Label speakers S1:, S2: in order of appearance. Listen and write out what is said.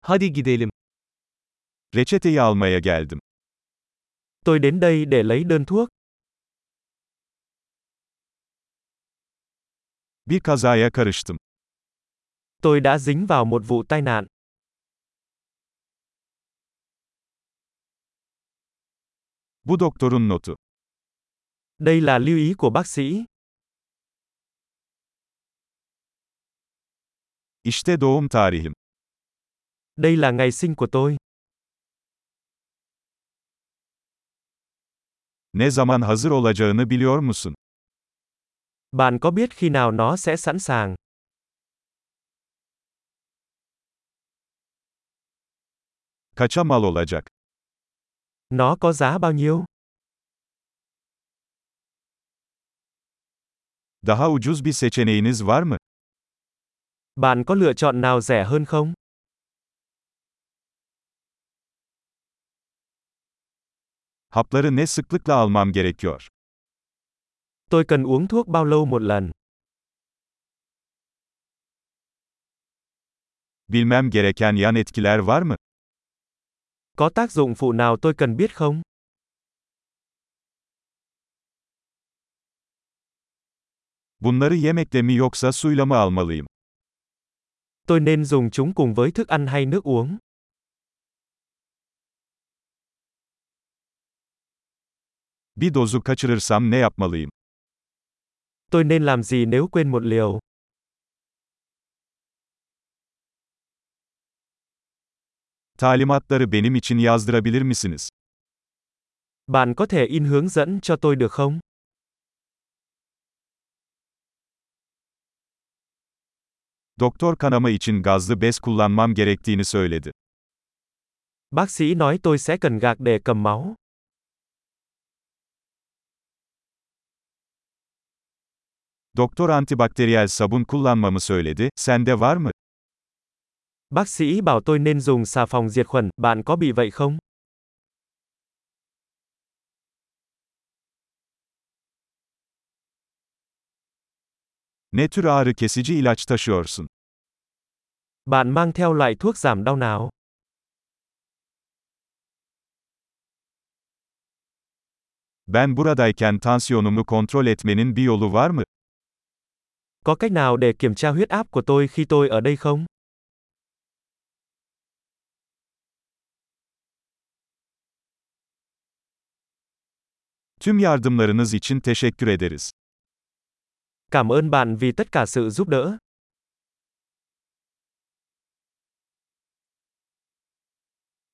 S1: Hadi gidelim.
S2: Reçeteyi almaya geldim.
S1: Tôi đến đây để lấy đơn thuốc.
S2: Bir kazaya karıştım.
S1: Tôi đã dính vào một vụ tai nạn.
S2: Bu doktorun notu.
S1: Đây là lưu ý của bác sĩ.
S2: İşte doğum tarihim.
S1: Đây là ngày sinh của tôi.
S2: Ne zaman hazır olacağını biliyor musun?
S1: Bạn có biết khi nào nó sẽ sẵn sàng?
S2: Kaça mal olacak?
S1: Nó có giá bao nhiêu?
S2: Daha ucuz bir seçeneğiniz var mı?
S1: Bạn có lựa chọn nào rẻ hơn không?
S2: Hapları ne sıklıkla almam gerekiyor?
S1: Tôi cần uống thuốc bao lâu một lần?
S2: Bilmem gereken yan etkiler var mı?
S1: Có tác dụng phụ nào tôi cần biết không?
S2: Bunları yemekle mi yoksa suyla mı almalıyım?
S1: Tôi nên dùng chúng cùng với thức ăn hay nước uống?
S2: Bir dozu kaçırırsam ne yapmalıyım?
S1: Tôi nên làm gì nếu quên một liều?
S2: Talimatları benim için yazdırabilir misiniz?
S1: Bạn có thể in hướng dẫn cho tôi được không?
S2: Doktor kanama için gazlı bez kullanmam gerektiğini söyledi.
S1: Bác sĩ nói tôi sẽ cần gạc để cầm máu.
S2: Doktor antibakteriyel sabun kullanmamı söyledi, sende var mı?
S1: Bác sĩ bảo tôi nên dùng xà phòng diệt khuẩn, bạn có bị vậy không?
S2: Ne tür ağrı kesici ilaç taşıyorsun?
S1: Bạn mang theo loại thuốc giảm đau nào?
S2: Ben buradayken tansiyonumu kontrol etmenin bir yolu var mı?
S1: Có cách nào để kiểm tra huyết áp của tôi khi tôi ở đây không?
S2: Tüm yardımlarınız için teşekkür ederiz.
S1: Cảm ơn bạn vì tất cả sự giúp đỡ.